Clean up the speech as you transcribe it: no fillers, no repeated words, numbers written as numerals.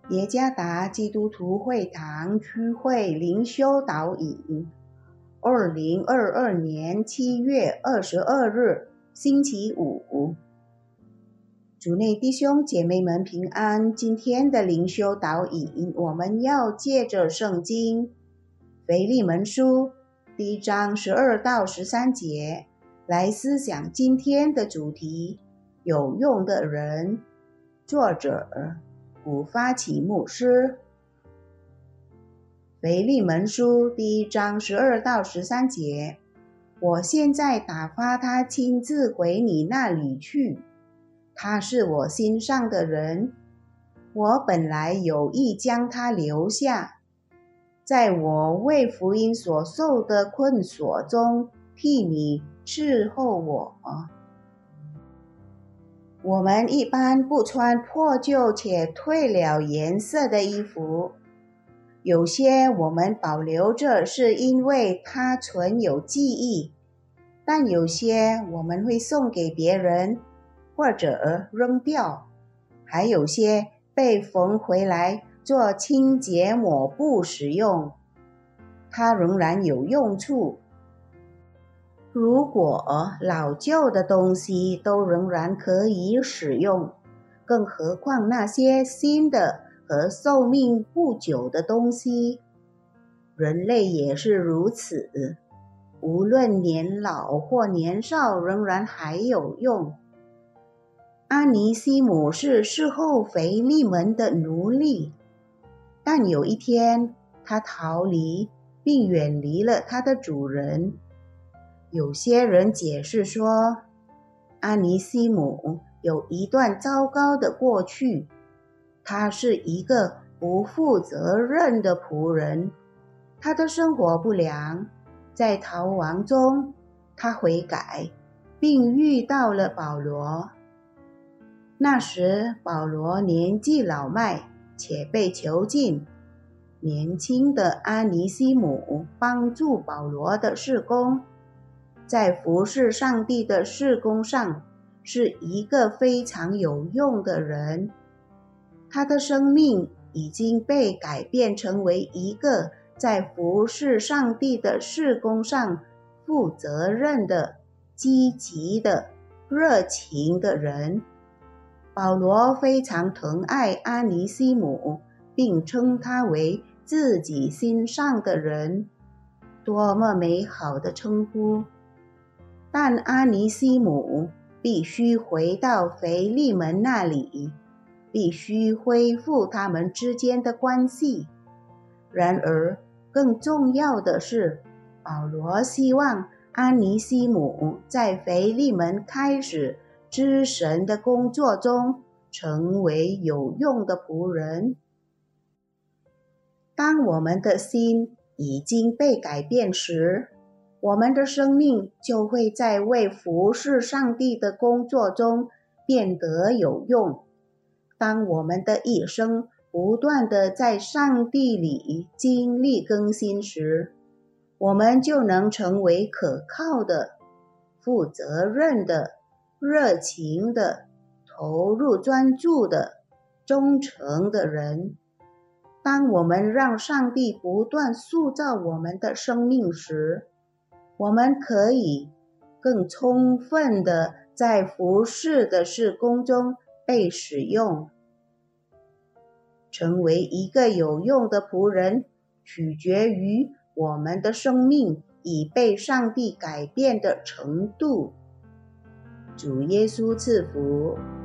耶加达基督徒会堂区会灵修导引，2022年7月22日，星期五。主内弟兄姐妹们平安。今天的灵修导引，我们要借着圣经腓利门书第1章12到13节来思想今天的主题：有用的人。作者古发起牧师。腓利门书第1章12到13节，我现在打发他亲自回你那里去，他是我心上的人，我本来有意将他留下，在我为福音所受的困锁中替你伺候我。我们一般不穿破旧且褪了颜色的衣服，有些我们保留着是因为它存有记忆，但有些我们会送给别人或者扔掉，还有些被缝回来做清洁抹布使用，它仍然有用处。如果老旧的东西都仍然可以使用，更何况那些新的和寿命不久的东西。人类也是如此，无论年老或年少，仍然还有用。阿尼西姆是侍候腓利门的奴隶，但有一天他逃离并远离了他的主人。有些人解释说，阿尼西姆有一段糟糕的过去，他是一个不负责任的仆人，他的生活不良，在逃亡中他悔改，并遇到了保罗。那时保罗年纪老迈且被囚禁，年轻的阿尼西姆帮助保罗的事工，在服侍上帝的事工上是一个非常有用的人。他的生命已经被改变成为一个在服侍上帝的事工上负责任的、积极的、热情的人。保罗非常疼爱阿尼西姆，并称他为自己心上的人，多么美好的称呼！但阿尼西姆必须回到腓利门那里，必须恢复他们之间的关系。然而，更重要的是，保罗希望阿尼西姆在腓利门开始之神的工作中成为有用的仆人。当我们的心已经被改变时，我们的生命就会在为服侍上帝的工作中变得有用。当我们的一生不断地在上帝里经历更新时，我们就能成为可靠的、负责任的、热情的、投入专注的、忠诚的人。当我们让上帝不断塑造我们的生命时，我们可以更充分地在服侍的事工中被使用。成为一个有用的仆人，取决于我们的生命已被上帝改变的程度。主耶稣赐福。